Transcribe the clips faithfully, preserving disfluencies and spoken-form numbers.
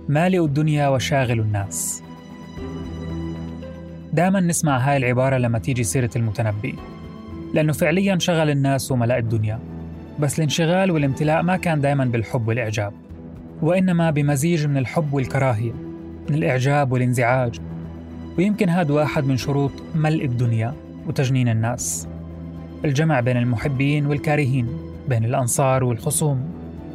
مالئ الدنيا وشاغل الناس. دائما نسمع هاي العبارة لما تيجي سيرة المتنبي، لأنه فعليا شغل الناس وملأ الدنيا، بس الانشغال والامتلاء ما كان دائما بالحب والإعجاب، وإنما بمزيج من الحب والكراهية، من الإعجاب والانزعاج. ويمكن هذا واحد من شروط ملء الدنيا وتجنين الناس، الجمع بين المحبين والكارهين، بين الأنصار والخصوم.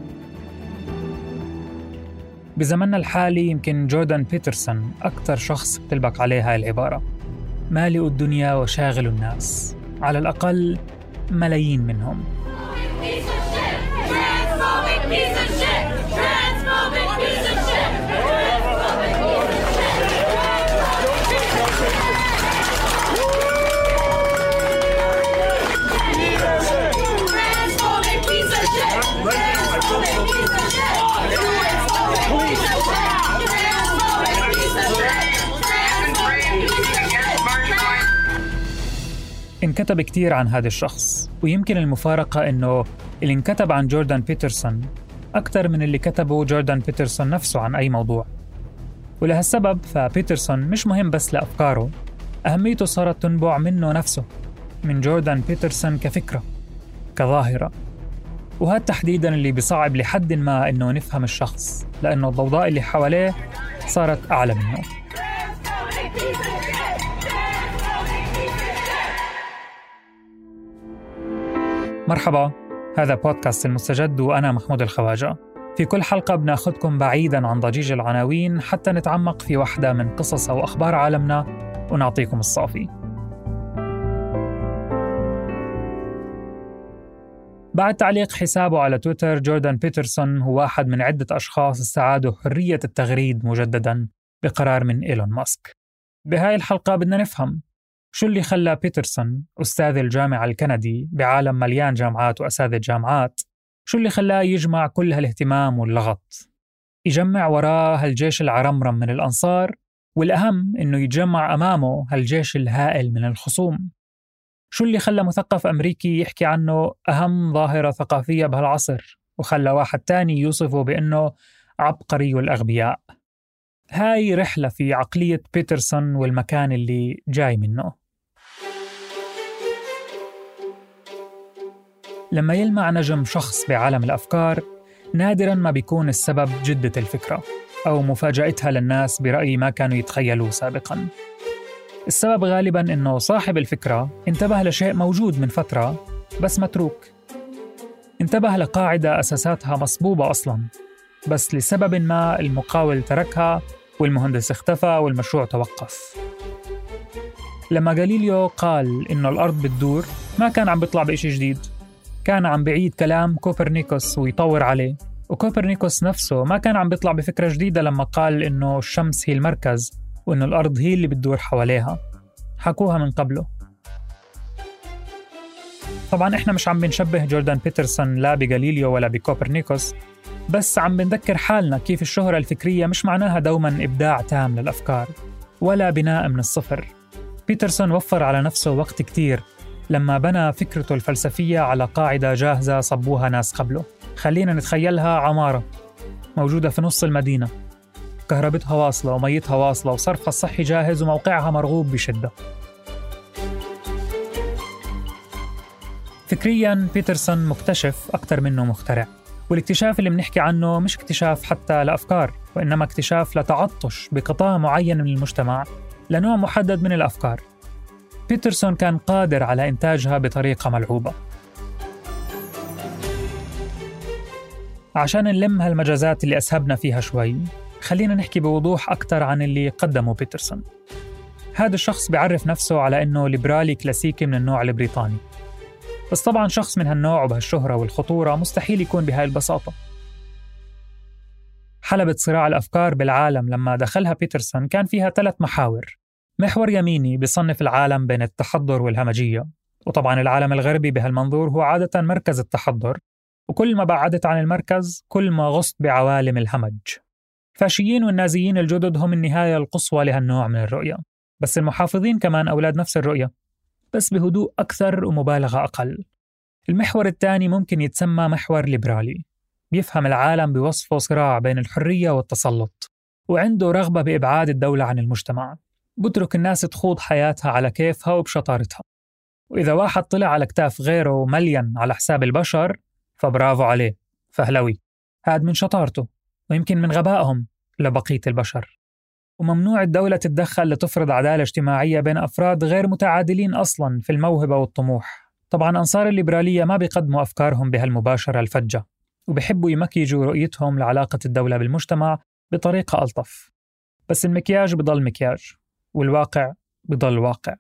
بزمننا الحالي يمكن جوردان بيترسون أكثر شخص بتلبق عليه هاي العبارة، مالئ الدنيا وشاغل الناس، على الأقل ملايين منهم. انكتب كتير عن هذا الشخص، ويمكن المفارقة إنه اللي انكتب عن جوردان بيترسون أكثر من اللي كتبه جوردان بيترسون نفسه عن أي موضوع. ولهالسبب فبيترسون مش مهم بس لأفكاره، أهميته صارت تنبع منه نفسه، من جوردان بيترسون كفكرة، كظاهرة. وهذا تحديداً اللي بيصعب لحد ما إنه نفهم الشخص، لأنه الضوضاء اللي حواليه صارت أعلى منه. مرحبا، هذا بودكاست المستجد وأنا محمود الخواجة. في كل حلقة بناخدكم بعيداً عن ضجيج العناوين حتى نتعمق في واحدة من قصص أو أخبار عالمنا ونعطيكم الصافي. بعد تعليق حسابه على تويتر، جوردان بيترسون هو واحد من عدة أشخاص استعادوا حرية التغريد مجدداً بقرار من إيلون ماسك. بهاي الحلقة بدنا نفهم شو اللي خلى بيترسون أستاذ الجامعة الكندي بعالم مليان جامعات وأساتذة جامعات، شو اللي خلاه يجمع كل هالاهتمام واللغط، يجمع وراه هالجيش العرمرم من الأنصار، والأهم إنه يتجمع أمامه هالجيش الهائل من الخصوم. شو اللي خلى مثقف أمريكي يحكي عنه أهم ظاهرة ثقافية بهالعصر، وخلى واحد تاني يوصفه بأنه عبقري والأغبياء. هاي رحلة في عقلية بيترسون والمكان اللي جاي منه. لما يلمع نجم شخص بعالم الأفكار، نادراً ما بيكون السبب جدة الفكرة أو مفاجأتها للناس برأي ما كانوا يتخيلوه سابقاً. السبب غالباً إنه صاحب الفكرة انتبه لشيء موجود من فترة بس متروك، انتبه لقاعدة أساساتها مصبوبة أصلاً، بس لسبب ما المقاول تركها والمهندس اختفى والمشروع توقف. لما غاليليو قال إنه الأرض بتدور، ما كان عم بيطلع بإشي جديد، كان عم بعيد كلام كوبرنيكوس ويطور عليه. وكوبرنيكوس نفسه ما كان عم بيطلع بفكرة جديدة لما قال إنه الشمس هي المركز وإنه الأرض هي اللي بتدور حواليها، حكوها من قبله. طبعاً إحنا مش عم بنشبه جوردان بيترسون لا بغاليليو ولا بكوبرنيكوس، بس عم بنذكر حالنا كيف الشهرة الفكرية مش معناها دوماً إبداع تام للأفكار ولا بناء من الصفر. بيترسون وفر على نفسه وقت كتير لما بنى فكرته الفلسفية على قاعدة جاهزة صبوها ناس قبله. خلينا نتخيلها عمارة موجودة في نص المدينة، كهربتها واصلة وميتها واصلة وصرفها الصحي جاهز وموقعها مرغوب بشدة. فكرياً بيترسون مكتشف أكتر منه مخترع، والاكتشاف اللي بنحكي عنه مش اكتشاف حتى لأفكار، وإنما اكتشاف لتعطش بقطاع معين من المجتمع لنوع محدد من الأفكار. بيترسون كان قادر على إنتاجها بطريقة ملعوبة. عشان نلم هالمجازات اللي أسهبنا فيها شوي، خلينا نحكي بوضوح أكتر عن اللي قدمه بيترسون. هذا الشخص بيعرف نفسه على إنه ليبرالي كلاسيكي من النوع البريطاني، بس طبعاً شخص من هالنوع وبهالشهرة والخطورة مستحيل يكون بهاي البساطة. حلبة صراع الأفكار بالعالم لما دخلها بيترسون كان فيها ثلاث محاور. محور يميني بيصنف العالم بين التحضر والهمجية، وطبعاً العالم الغربي بهالمنظور هو عادة مركز التحضر، وكل ما بعدت عن المركز كل ما غصت بعوالم الهمج. الفاشيين والنازيين الجدد هم النهاية القصوى لهالنوع من الرؤية، بس المحافظين كمان أولاد نفس الرؤية، بس بهدوء أكثر ومبالغة أقل. المحور الثاني ممكن يتسمى محور ليبرالي، بيفهم العالم بوصفه صراع بين الحرية والتسلط، وعنده رغبة بإبعاد الدولة عن المجتمع، بترك الناس تخوض حياتها على كيفها وبشطارتها. وإذا واحد طلع على كتاف غيره مليان على حساب البشر فبرافو عليه، فهلوي، هاد من شطارته ويمكن من غبائهم لبقية البشر. وممنوع الدولة تتدخل لتفرض عدالة اجتماعية بين أفراد غير متعادلين أصلاً في الموهبة والطموح. طبعاً أنصار الليبرالية ما بيقدموا أفكارهم بهالمباشرة الفجة، وبيحبوا يمكيجوا رؤيتهم لعلاقة الدولة بالمجتمع بطريقة ألطف، بس المكياج بضل مكياج والواقع بضل واقع.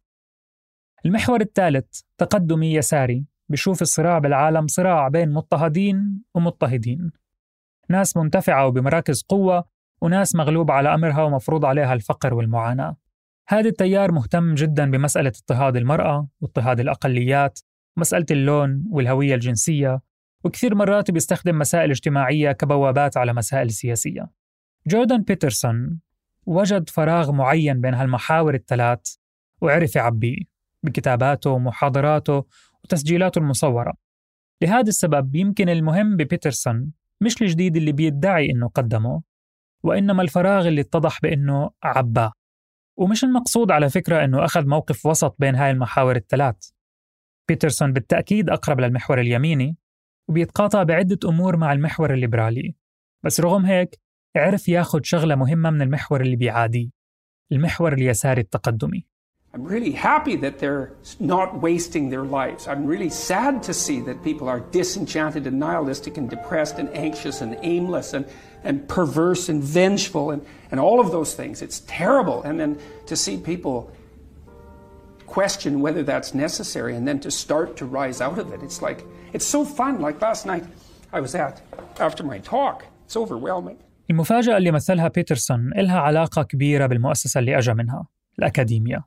المحور الثالث تقدمي يساري، بيشوف الصراع بالعالم صراع بين مضطهدين ومضطهدين، ناس منتفعة وبمراكز قوة وناس مغلوب على أمرها ومفروض عليها الفقر والمعاناة. هذا التيار مهتم جدا بمسألة اضطهاد المرأة واضطهاد الأقليات، مسألة اللون والهوية الجنسية، وكثير مرات بيستخدم مسائل اجتماعية كبوابات على مسائل سياسية. جوردان بيترسون وجد فراغ معين بين هالمحاور الثلاث وعرف يعبيه بكتاباته ومحاضراته وتسجيلاته المصورة. لهذا السبب يمكن المهم ببيترسون مش الجديد اللي بيدعي إنه قدمه، وإنما الفراغ اللي اتضح بإنه عباه. ومش المقصود على فكرة إنه أخذ موقف وسط بين هاي المحاور الثلاث. بيترسون بالتأكيد أقرب للمحور اليميني وبيتقاطع بعدة أمور مع المحور الليبرالي، بس رغم هيك عرف ياخد شغلة مهمة من المحور اللي بيعاديه، المحور اليساري التقدمي. I'm really happy that they're not wasting their lives. I'm really sad to see that people are disenchanted and nihilistic and depressed and anxious and aimless and, and perverse and vengeful and, and all of those things. It's terrible. And then to see people question whether that's necessary and then to start to rise out of it. It's like, it's so fun. Like last night I was at, after my talk, it's overwhelming. المفاجأة اللي مثلها بيترسون إلها علاقة كبيرة بالمؤسسة اللي أجا منها، الأكاديمية.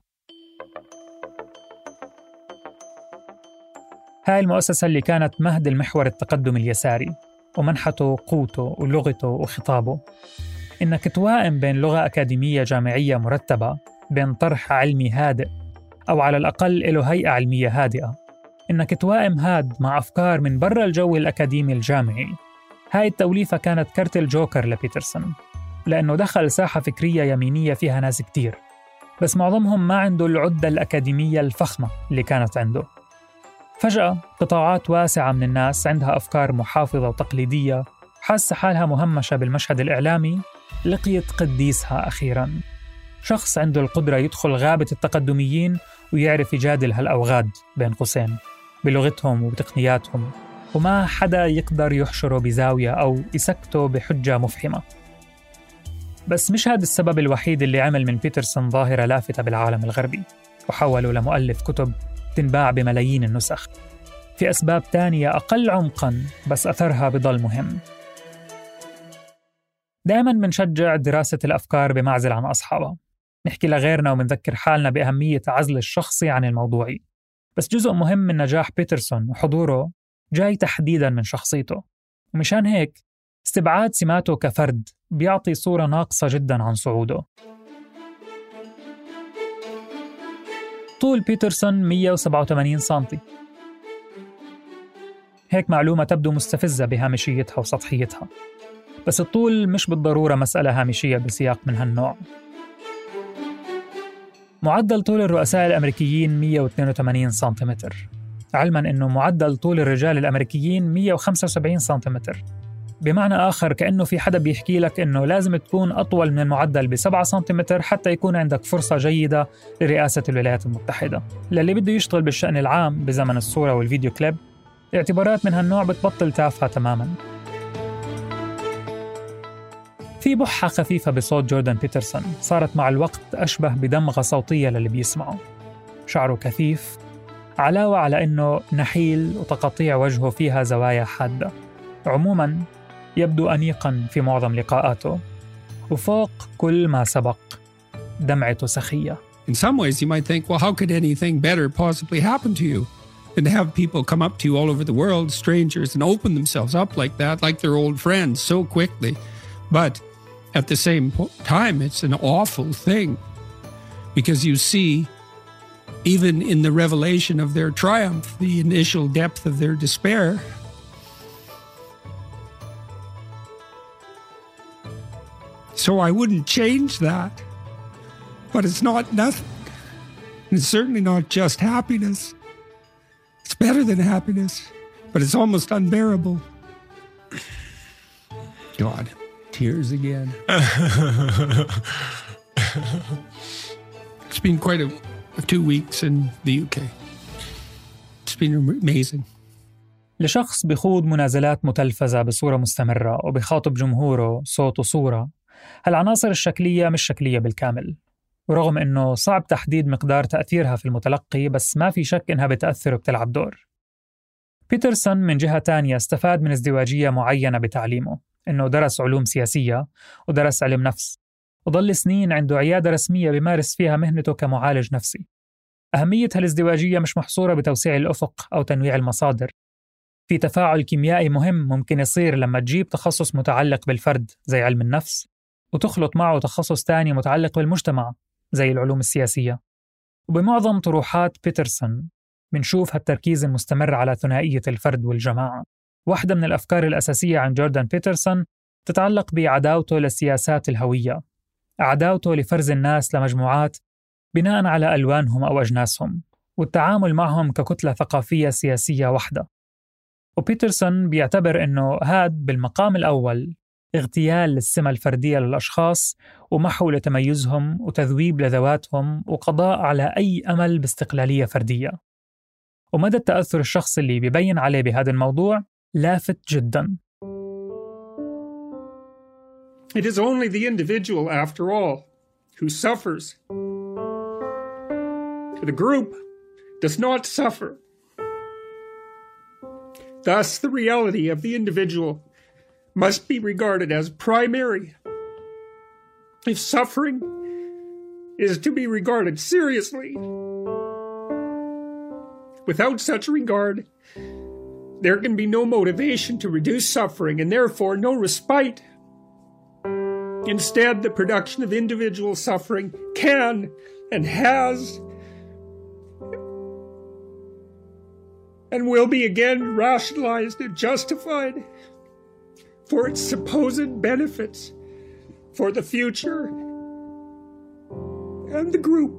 هاي المؤسسة اللي كانت مهد المحور التقدمي اليساري ومنحته قوته ولغته وخطابه، إنك توائم بين لغة أكاديمية جامعية مرتبة، بين طرح علمي هادئ أو على الأقل له هيئة علمية هادئة، إنك توائم هاد مع أفكار من برا الجو الأكاديمي الجامعي. هاي التوليفة كانت كرت الجوكر لبيترسون، لأنه دخل ساحة فكرية يمينية فيها ناس كتير، بس معظمهم ما عنده العدة الأكاديمية الفخمة اللي كانت عنده. فجأة قطاعات واسعة من الناس عندها أفكار محافظة وتقليدية، حاسة حالها مهمشة بالمشهد الإعلامي، لقيت قديسها أخيراً، شخص عنده القدرة يدخل غابة التقدميين ويعرف يجادل هالأوغاد بين قوسين بلغتهم وبتقنياتهم، وما حدا يقدر يحشره بزاوية أو يسكته بحجة مفحمة. بس مش هذا السبب الوحيد اللي عمل من بيترسون ظاهرة لافتة بالعالم الغربي وحولوا لمؤلف كتب تنباع بملايين النسخ. في أسباب تانية أقل عمقاً بس أثرها بضل مهم. دائماً بنشجع دراسة الأفكار بمعزل عن أصحابها، نحكي لغيرنا ومنذكر حالنا بأهمية عزل الشخصي عن الموضوعي، بس جزء مهم من نجاح بيترسون وحضوره جاي تحديداً من شخصيته، ومشان هيك استبعاد سماته كفرد بيعطي صورة ناقصة جداً عن صعوده. طول بيترسون مية وسبعة وثمانين سنتي، هيك معلومة تبدو مستفزة بهامشيتها وسطحيتها، بس الطول مش بالضرورة مسألة هامشية بسياق من هالنوع. معدل طول الرؤساء الأمريكيين مية واثنين وثمانين سنتيمتر، علماً أنه معدل طول الرجال الأمريكيين مية وخمسة وسبعين سنتيمتر. بمعنى آخر كأنه في حدا بيحكي لك أنه لازم تكون أطول من المعدل بسبعة سنتيمتر حتى يكون عندك فرصة جيدة لرئاسة الولايات المتحدة. للي بده يشتغل بالشأن العام بزمن الصورة والفيديو كليب، اعتبارات من هالنوع بتبطل تافهة تماماً. في بحة خفيفة بصوت جوردان بيترسون صارت مع الوقت أشبه بدمغة صوتية للي بيسمعه. شعره كثيف، علاوة على أنه نحيل وتقطيع وجهه فيها زوايا حادة. عموماً يبدو أنيقاً في معظم لقاءاته، وفوق كل ما سبق دمعته سخية. In some ways you might think, well, how could anything better possibly happen to you than to have people come up to you all over the world, strangers, and open themselves up like that, like they're old friends so quickly. But at the same time, it's an awful thing because you see, even in the revelation of their triumph, the initial depth of their despair. So I wouldn't change that. But it's not nothing. And it's certainly not just happiness. It's better than happiness, but it's almost unbearable. God, tears again. It's been quite a, a two weeks in the U K. It's been amazing. لشخص بخوض منازلات متلفزة بصورة مستمرة وبخاطب جمهوره صوت وصورة، هالعناصر الشكلية مش شكلية بالكامل، ورغم إنه صعب تحديد مقدار تأثيرها في المتلقي، بس ما في شك إنها بتأثر وبتلعب دور. بيترسون من جهة تانية استفاد من ازدواجية معينة بتعليمه، إنه درس علوم سياسية ودرس علم نفس، وظل سنين عنده عيادة رسمية بيمارس فيها مهنته كمعالج نفسي. أهمية هالازدواجية مش محصورة بتوسيع الأفق أو تنويع المصادر. في تفاعل كيميائي مهم ممكن يصير لما تجيب تخصص متعلق بالفرد زي علم النفس وتخلط معه تخصص تاني متعلق بالمجتمع زي العلوم السياسية. وبمعظم طروحات بيترسون بنشوف هالتركيز المستمر على ثنائية الفرد والجماعة. واحدة من الأفكار الأساسية عن جوردان بيترسون تتعلق بعداوته لسياسات الهوية، عداوته لفرز الناس لمجموعات بناء على ألوانهم أو أجناسهم، والتعامل معهم ككتلة ثقافية سياسية واحدة. وبيترسون بيعتبر أنه هاد بالمقام الأول اغتيال للسمة الفردية للأشخاص ومحو لتميزهم وتذويب لذواتهم وقضاء على أي أمل باستقلالية فردية. ومدى التأثر الشخصي اللي بيبين عليه بهذا الموضوع لافت جداً. It is only the individual, after all, who suffers. The group does not suffer. Thus, the reality of the individual must be regarded as primary. If suffering is to be regarded seriously, without such regard, there can be no motivation to reduce suffering and therefore no respite. Instead, the production of individual suffering can and has and will be again rationalized and justified for its supposed benefits for the future and the group.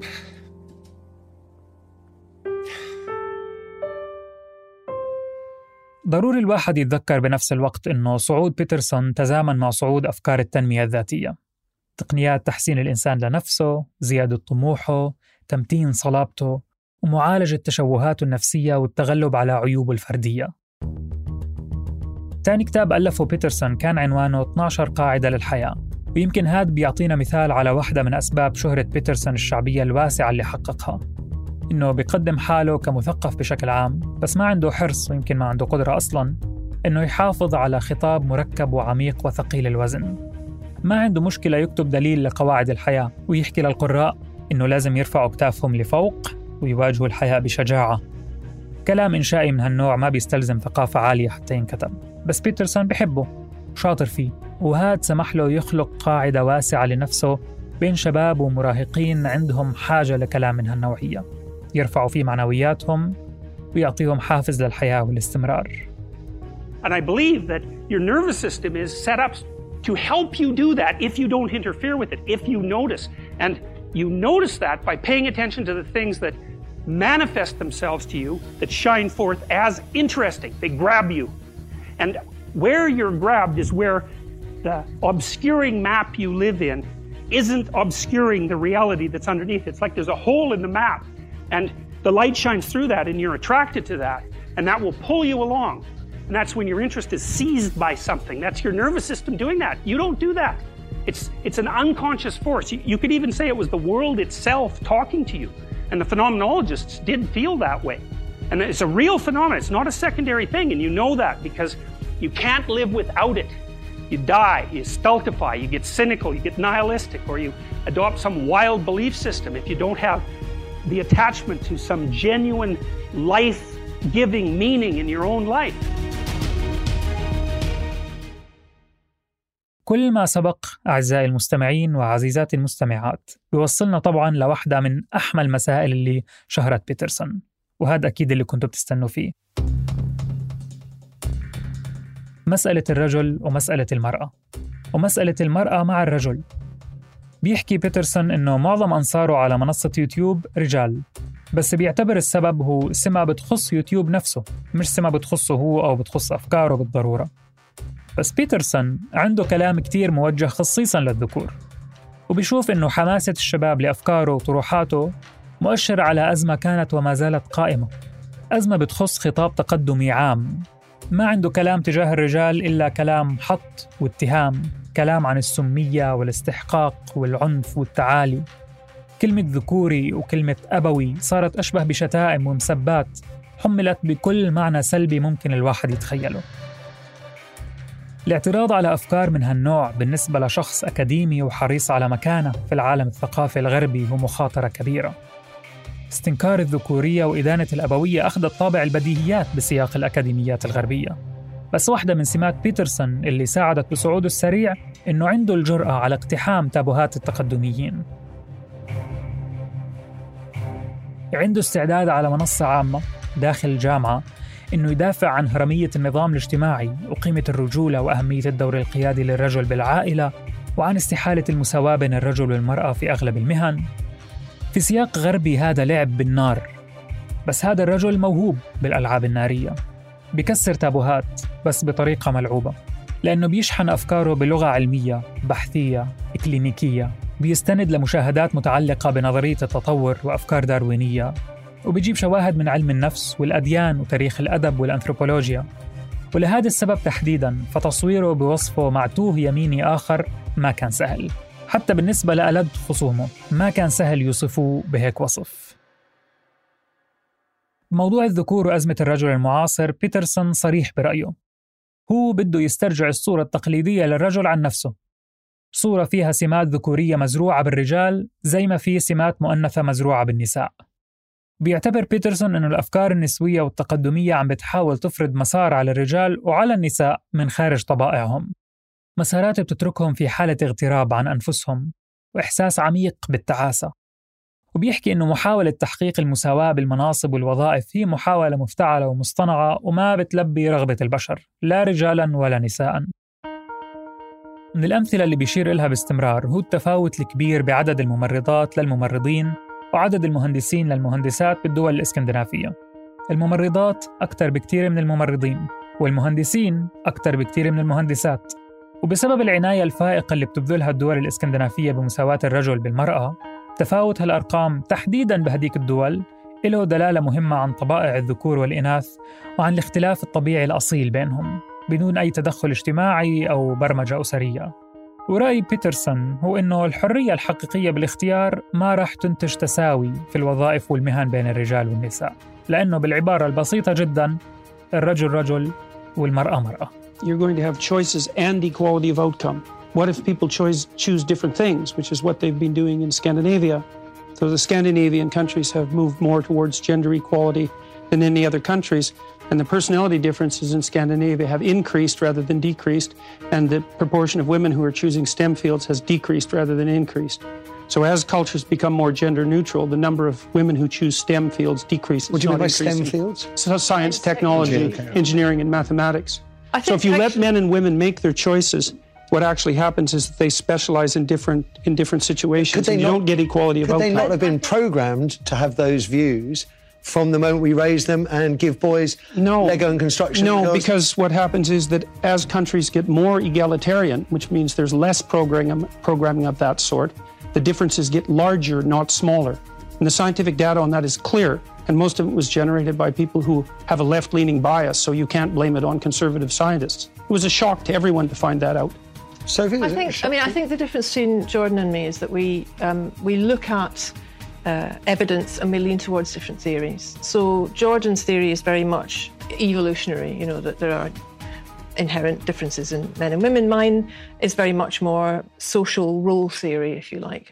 ضروري الواحد يتذكر بنفس الوقت إنه صعود بيترسون تزامن مع صعود أفكار التنمية الذاتية، تقنيات تحسين الإنسان لنفسه، زيادة طموحه، تمتين صلابته، ومعالجة تشوهاته النفسية والتغلب على عيوبه الفردية. تاني كتاب ألفه بيترسون كان عنوانه اثنتي عشرة قاعدة للحياة، ويمكن هذا بيعطينا مثال على واحدة من أسباب شهرة بيترسون الشعبية الواسعة اللي حققها، إنه بيقدم حاله كمثقف بشكل عام، بس ما عنده حرص ويمكن ما عنده قدرة أصلاً إنه يحافظ على خطاب مركب وعميق وثقيل الوزن. ما عنده مشكلة يكتب دليل لقواعد الحياة ويحكي للقراء إنه لازم يرفعوا كتافهم لفوق ويواجهوا الحياة بشجاعة. كلام إنشائي من هالنوع ما بيستلزم ثقافة عالية حتى ينكتب، بس بيترسون بيحبه وشاطر فيه، وهاد سمح له يخلق قاعدة واسعة لنفسه بين شباب ومراهقين عندهم حاجة لكلام من هالنوعية، يرفعوا فيه معنوياتهم ويعطيهم حافز للحياة والاستمرار. And I believe that your nervous system is set up to help you do that if you don't interfere with it, if you notice. And you notice that by paying attention to the things that manifest themselves to you, that shine forth as interesting. They grab you. And where you're grabbed is where the obscuring map you live in isn't obscuring the reality that's underneath. It's like there's a hole in the map, and the light shines through that, and you're attracted to that, and that will pull you along. And that's when your interest is seized by something. That's your nervous system doing that. You don't do that. It's, it's an unconscious force. You, you could even say it was the world itself talking to you. And the phenomenologists did feel that way. And it's a real phenomenon. It's not a secondary thing. And you know that because you can't live without it. You die, you stultify, you get cynical, you get nihilistic, or you adopt some wild belief system if you don't have the attachment to some genuine life-giving meaning in your own life. كل ما سبق أعزائي المستمعين وعزيزاتي المستمعات بيوصلنا طبعاً لواحدة من أحمى المسائل اللي شهرت بيترسون، وهذا أكيد اللي كنتوا بتستنوا فيه، مسألة الرجل ومسألة المرأة. ومسألة المرأة مع الرجل. بيحكي بيترسون إنه معظم أنصاره على منصة يوتيوب رجال، بس بيعتبر السبب هو سمة بتخص يوتيوب نفسه، مش سمة بتخصه هو أو بتخص أفكاره بالضرورة. بس بيترسون عنده كلام كتير موجه خصيصاً للذكور، وبيشوف إنه حماسة الشباب لأفكاره وطروحاته مؤشر على أزمة كانت وما زالت قائمة، أزمة بتخص خطاب تقدمي عام. ما عنده كلام تجاه الرجال إلا كلام حط واتهام، كلام عن السمية والاستحقاق والعنف والتعالي. كلمة ذكوري وكلمة أبوي صارت أشبه بشتائم ومسبات حملت بكل معنى سلبي ممكن الواحد يتخيله. الاعتراض على أفكار من هالنوع بالنسبة لشخص أكاديمي وحريص على مكانة في العالم الثقافي الغربي هو مخاطرة كبيرة. استنكار الذكورية وإدانة الأبوية أخذت طابع البديهيات بسياق الأكاديميات الغربية. بس واحدة من سمات بيترسون اللي ساعدت بصعوده السريع إنه عنده الجرأة على اقتحام تابوهات التقدميين. عنده استعداد على منصة عامة داخل الجامعة إنه يدافع عن هرمية النظام الاجتماعي وقيمة الرجولة وأهمية الدور القيادي للرجل بالعائلة، وعن استحالة المساواة بين الرجل والمرأة في أغلب المهن. في سياق غربي هذا لعب بالنار، بس هذا الرجل موهوب بالألعاب النارية، بيكسر تابوهات بس بطريقة ملعوبة، لأنه بيشحن أفكاره بلغة علمية بحثية إكلينيكية، بيستند لمشاهدات متعلقة بنظرية التطور وأفكار داروينية، وبيجيب شواهد من علم النفس والأديان وتاريخ الأدب والأنثروبولوجيا. ولهذا السبب تحديداً فتصويره بوصفه معتوه يميني آخر ما كان سهل، حتى بالنسبة لألد خصومه ما كان سهل يوصفوه بهيك وصف. موضوع الذكور وأزمة الرجل المعاصر، بيترسون صريح برأيه. هو بده يسترجع الصورة التقليدية للرجل عن نفسه، صورة فيها سمات ذكورية مزروعة بالرجال زي ما في سمات مؤنثة مزروعة بالنساء. بيعتبر بيترسون أن الأفكار النسوية والتقدمية عم بتحاول تفرض مسار على الرجال وعلى النساء من خارج طبائعهم، مسارات بتتركهم في حالة اغتراب عن أنفسهم وإحساس عميق بالتعاسة. وبيحكي أنه محاولة تحقيق المساواة بالمناصب والوظائف هي محاولة مفتعلة ومصطنعة وما بتلبي رغبة البشر لا رجالاً ولا نساءً. من الأمثلة اللي بيشير إلها باستمرار هو التفاوت الكبير بعدد الممرضات للممرضين وعدد المهندسين للمهندسات بالدول الإسكندنافية. الممرضات أكثر بكتير من الممرضين، والمهندسين أكثر بكتير من المهندسات. وبسبب العناية الفائقة اللي بتبذلها الدول الإسكندنافية بمساواة الرجل بالمرأة، تفاوت هالأرقام تحديداً بهديك الدول له دلالة مهمة عن طبائع الذكور والإناث وعن الاختلاف الطبيعي الأصيل بينهم بدون أي تدخل اجتماعي أو برمجة أسرية. ورأي بيترسون هو إنه الحرية الحقيقية بالاختيار ما راح تنتج تساوي في الوظائف والمهن بين الرجال والنساء، لأنه بالعبارة البسيطة جداً الرجل رجل والمرأة مرأة. You're going to have choices and equality of outcome. What if people choose, choose different things, which is what they've been doing in Scandinavia? So the Scandinavian countries have moved more towards gender equality than any other countries, and the personality differences in Scandinavia have increased rather than decreased, and the proportion of women who are choosing STEM fields has decreased rather than increased. So as cultures become more gender neutral, the number of women who choose STEM fields decreases. What do you mean by STEM fields? So science, technology, engineering, and mathematics. So if you let men and women make their choices, what actually happens is that they specialize in different in different situations, and you not, don't get equality of outcome. Could they not have been programmed to have those views from the moment we raise them and give boys no, Lego and construction? No, because... because what happens is that as countries get more egalitarian, which means there's less programming, programming of that sort, the differences get larger, not smaller. And the scientific data on that is clear, and most of it was generated by people who have a left-leaning bias, so you can't blame it on conservative scientists. It was a shock to everyone to find that out. Sophie, I think, I mean, I think the difference between Jordan and me is that we um, we look at uh, evidence and we lean towards different theories. So Jordan's theory is very much evolutionary, you know, that there are inherent differences in men and women. Mine is very much more social role theory, if you like.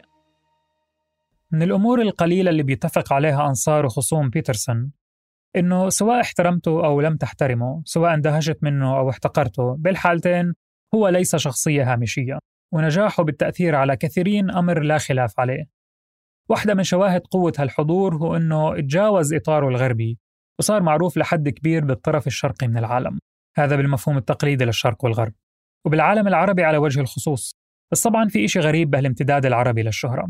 من الأمور القليلة اللي بيتفق عليها أنصار وخصوم بيترسون إنه سواء احترمته أو لم تحترمه، سواء اندهشت منه أو احتقرته، بالحالتين هو ليس شخصية هامشية، ونجاحه بالتأثير على كثيرين أمر لا خلاف عليه. واحدة من شواهد قوة هالحضور هو إنه تجاوز إطاره الغربي وصار معروف لحد كبير بالطرف الشرقي من العالم، هذا بالمفهوم التقليدي للشرق والغرب. وبالعالم العربي على وجه الخصوص. بس طبعاً في إشي غريب بهالامتداد العربي للشهرة.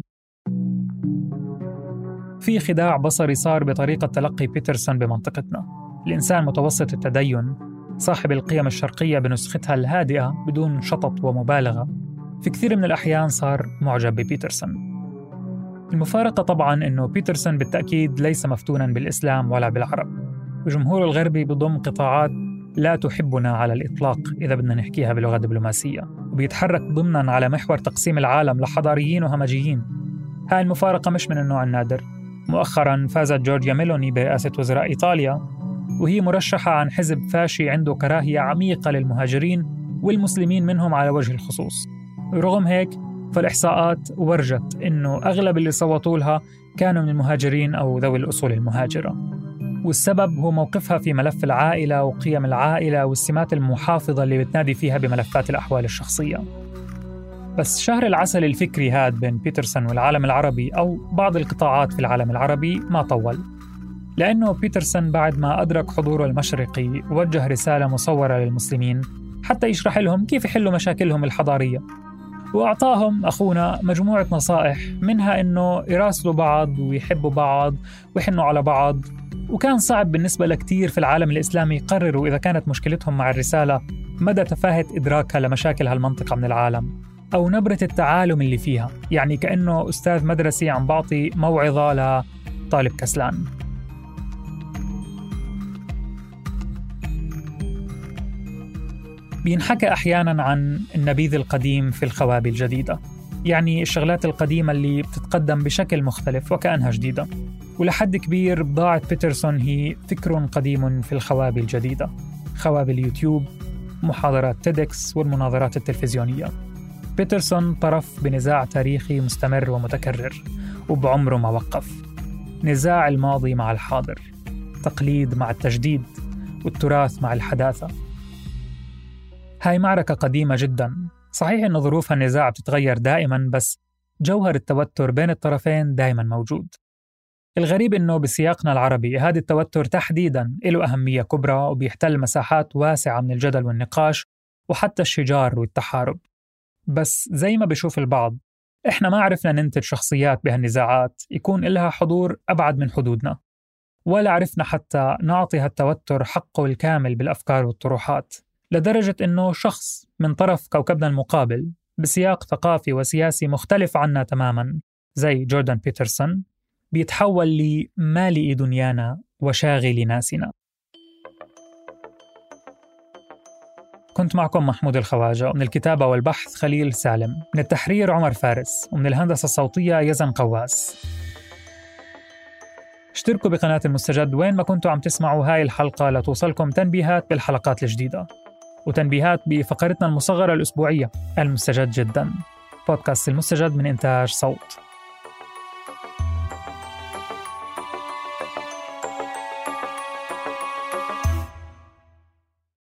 في خداع بصري صار بطريقة تلقي بيترسون بمنطقتنا. الإنسان متوسط التدين صاحب القيم الشرقية بنسختها الهادئة بدون شطط ومبالغة في كثير من الأحيان صار معجب ببيترسون. المفارقة طبعاً أنه بيترسون بالتأكيد ليس مفتوناً بالإسلام ولا بالعرب، وجمهور الغربي بضم قطاعات لا تحبنا على الإطلاق إذا بدنا نحكيها بلغة دبلوماسية، وبيتحرك ضمناً على محور تقسيم العالم لحضاريين وهمجيين. هاي المفارقة مش من النوع النادر. مؤخراً فازت جورجيا ميلوني برئاسة وزراء إيطاليا، وهي مرشحة عن حزب فاشي عنده كراهية عميقة للمهاجرين والمسلمين منهم على وجه الخصوص. رغم هيك فالإحصاءات ورجت إنه أغلب اللي صوتوا لها كانوا من المهاجرين أو ذوي الأصول المهاجرة، والسبب هو موقفها في ملف العائلة وقيم العائلة والسمات المحافظة اللي بتنادي فيها بملفات الأحوال الشخصية. بس شهر العسل الفكري هاد بين بيترسون والعالم العربي أو بعض القطاعات في العالم العربي ما طول، لأنه بيترسون بعد ما أدرك حضوره المشرقي وجه رسالة مصورة للمسلمين حتى يشرح لهم كيف يحلوا مشاكلهم الحضارية، وأعطاهم أخونا مجموعة نصائح، منها إنه يراسلوا بعض ويحبوا بعض ويحنوا على بعض. وكان صعب بالنسبة لكتير في العالم الإسلامي يقرروا إذا كانت مشكلتهم مع الرسالة مدى تفاهة إدراكها لمشاكل هالمنطقة من العالم أو نبرة التعالم اللي فيها، يعني كأنه أستاذ مدرسي عم بعطي موعظة لطالب كسلان. بينحكى أحياناً عن النبيذ القديم في الخوابي الجديدة، يعني الشغلات القديمة اللي بتتقدم بشكل مختلف وكأنها جديدة. ولحد كبير بضاعة بيترسون هي فكر قديم في الخوابي الجديدة، خوابي اليوتيوب، محاضرات تيدكس والمناظرات التلفزيونية. بيترسون طرف بنزاع تاريخي مستمر ومتكرر وبعمره ما وقف، نزاع الماضي مع الحاضر، تقليد مع التجديد، والتراث مع الحداثة. هاي معركة قديمة جدا، صحيح إن ظروف النزاع بتتغير دائما، بس جوهر التوتر بين الطرفين دائما موجود. الغريب إنه بسياقنا العربي هذا التوتر تحديدا له أهمية كبرى وبيحتل مساحات واسعة من الجدل والنقاش وحتى الشجار والتحارب. بس زي ما بيشوف البعض، إحنا ما عرفنا ننتج شخصيات بهالنزاعات يكون إلها حضور أبعد من حدودنا، ولا عرفنا حتى نعطي هالتوتر حقه الكامل بالأفكار والطروحات، لدرجة إنه شخص من طرف كوكبنا المقابل بسياق ثقافي وسياسي مختلف عنا تماماً زي جوردان بيترسون بيتحول لمالئ دنيانا وشاغل ناسنا. كنت معكم محمود الخواجة، ومن الكتابة والبحث خليل سالم، من التحرير عمر فارس، ومن الهندسة الصوتية يزن قواس. اشتركوا بقناة المستجد وين ما كنتوا عم تسمعوا هاي الحلقة لتوصلكم تنبيهات بالحلقات الجديدة، وتنبيهات بفقرتنا المصغرة الأسبوعية المستجد جدا، بودكاست المستجد من إنتاج صوت.